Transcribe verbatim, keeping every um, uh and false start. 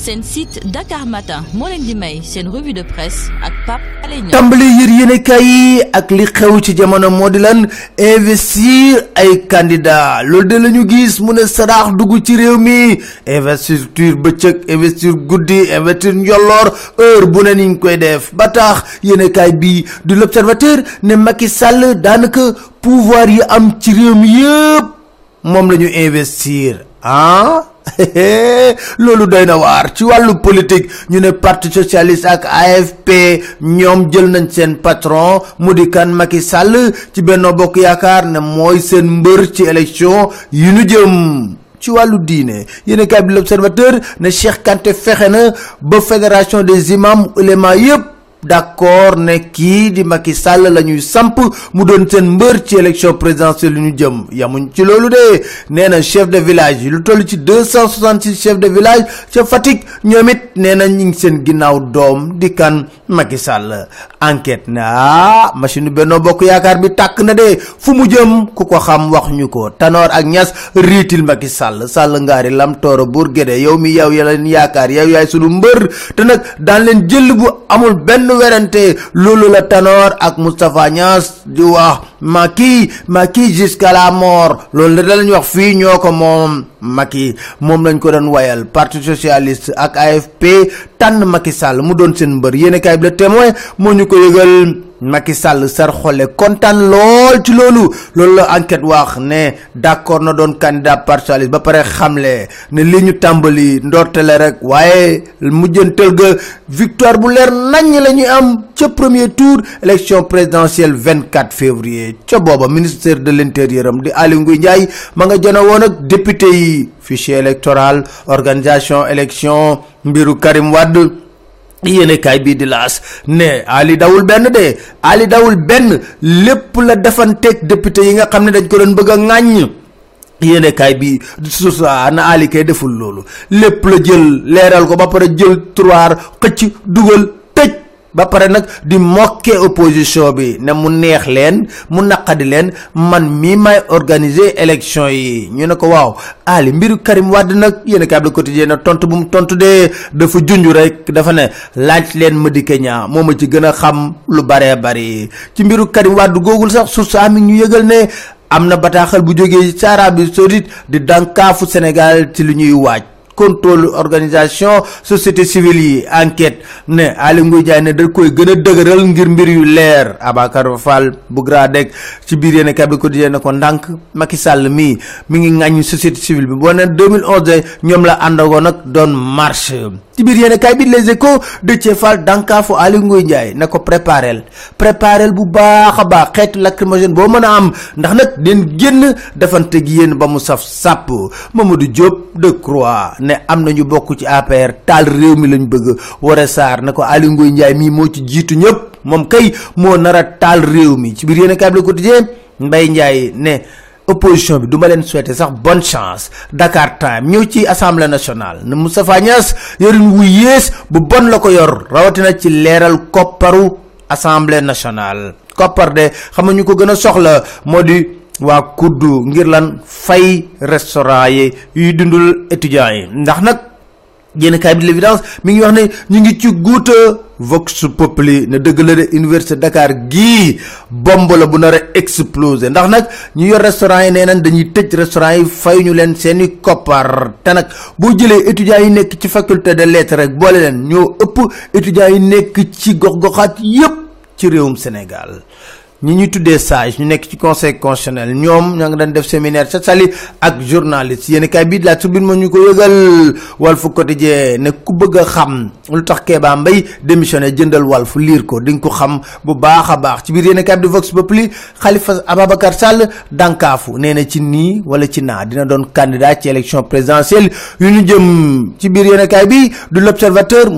seen site Dakar Matin moo leen di may seen revue de presse ak Pape Alé Niang. tàmbali yër yéenekaay yi ak li xew ci jamono moo di lan investir ay candidat loolu de la ñu gis mu ne saraax dugg ci réew mi investiture bëccëg investir guddi investir njolloor heure bu ne niñ koy def ba tax yéenekaay bi du l'Observateur ne Macky Sall daanaka pouvoir yi am ci réew mi yëpp moom la ñu investir ah loolu doy na waar ci wàllu politique ñu ne parti socialiste ak A F P ñoom jël nañ seen patron mu di kan Macky Sall ci Benno Bokk Yaakaar ne mooy seen mbër ci élection yu ñu jëm. ci wàllu diine yéen a bi l'Observateur ne Cheikh Kanté fexe na ba fédération des imams ouléma yëpp d'accord ne kii di Macky Sall la ñuy samp mu doon seen mbër ci élection présidentielle yu ñu jëm yamuñ ci loolu de nee na chef de village yi lu toll ci deux cent soixante-six chef de village ca Fatick ñoom it nee na ñu ngi seen ginnaaw doom di kan Macky Sall. Enquête ne ah machine Benno Bokk Yaakaar bi tàkk na de fu mu jëm ku ko xam wax ñu ko Tanor ak Niass riitil Macky Sall Sall ngaari lam tooro buur géde yow mi yow ya leen yaakaar yow yaay sunu mbër te nag daan leen jël bu amul benn werante loolu la Tanor ak Moustapha Niass di wax Macky Macky jusqu'à la mort loolu la lañ wax fii ñoo ko moom Macky moom lañ ko doon wayal parti socialiste ak A F P tànn Macky Sall mu doon seen mbër yéen kaay bi Le Témoin moo ñu ko yëgal Macky Sall sar xole kontaan lool ci loolu loolu la enquête wax ne d'accord na doon candidat parti socialiste ba pare xamle ne li ñu tàmbali ndortele rek waaye mujjantel ga victoire bu leer nañ la ñuy am ca premier tour élection présidentielle vingt-quatre février ca booba ministère de l'intérieur am di Aly Ngouille Ndiaye ma nga jëna woon ak député yi fichier électoral organisation élection mbiru Karim Wade yéene kaay bii di laas ne Ali dawul benn de Ali dawul benn lépp la defanteeg député yi nga xam ne dañ ko doon bëgg a ŋàññ yéene kaay bi susa na Ali kay deful loolu lépp la jël leeral ko ba pare jël trois xëcc dugal tëj ba pare nag di moquer opposition bi ne mu neex leen mu naqadi leen man mii may organiser élection yi ñu ne ko waaw Ali mbiru Karim Wade nag yéen a kaay bi Le Quotidien na tontu bu mu tontu de dafa junj rek dafa ne laaj leen Madické Niang moo ma ci gën a xam lu baree bari ci mbiru Karim Wade googul sax su saa mi ñu yëgal ne am na bataaxal bu jógee ci Arabie Saoudite di dànkaafu Sénégal ci lu ñuy waaj. contrôle organisation société civile yi enquête ne Aly Ngouille Ndiaye ne da koy gën a dëgëral ngir mbir yu leer Abacar Fall bu Gradec ci biir yéen a ko di ne ko ndànk Macky Sall mii mi ngi ŋàññ société civile bi boo ne deux mille onze ñoom la àndagoon nag doon marche ci biir yéen a bi Les Échos de Thié Fall dànkaafu Aly Ngouille Ndiaye ne ko préparel préparel bu baax a baax xeetu lacrymogène boo mën a am ndax nag den génn defante gi yéen ba mu saf sàpp Mamadou Diop Decroix ne am na ñu bokk ci A P R taal réew mi lañ bëgg Woré Sarr ne ko Aly Ngouille Ndiaye mii moo ci jiitu ñëpp moom kay moo nar a taal réew mi ci biir yéen a kaay bi Le Quotidien Mbaye Ndiaye ne opposition bi du ma leen souhaiter sax bonne chance Dakar Time ñëw ci assemblée nationale ne Moustapha Niass yorin wu yées bu bon la ko yor rawatina ci leeral kopparu assemblée nationale koppar de xam nga ñu ko gën a soxla moo di waa kuddu ngir lan fay restaurant yi yuy dundul étudiants yi ndax nag yéen kaay bi l'évidence mi ngi wax ne ñu ngi ci guuta Vox Populi ne dëgg la de université Dakar gii bomb la bu nar a exploser ndax nag ñu yor restaurant yi nee nañ dañuy tëj restaurant yi fay ñu leen seeni koppar te nag boo jëlee étudiants yi nekk ci faculté de lettres rek boole leen ñoo ëpp étudiants yi nekk ci gox-goxaat yépp ci réewum Sénégal ñi ñuy tuddee sage ñu nekk ci conseil constitutionnel ñoom ña nga doon def séminaire ca Saly ak journaliste yéen kay bii la Tribune moo ñu ko yëgal Walf Quotidien ne ku bëgg a xam lu tax Kéba Mbaye démissionné jëndal Walf liir ko di nga ko xam bu baax a baax ci biir yéen kay bi di Vox Populi Khalifa Ababacar Sall dànkaafu nee na ci nii wala ci naa dina doon candidat ci élection présidentielle yu ñu jëm ci biir yéen kay bi du L'Observateur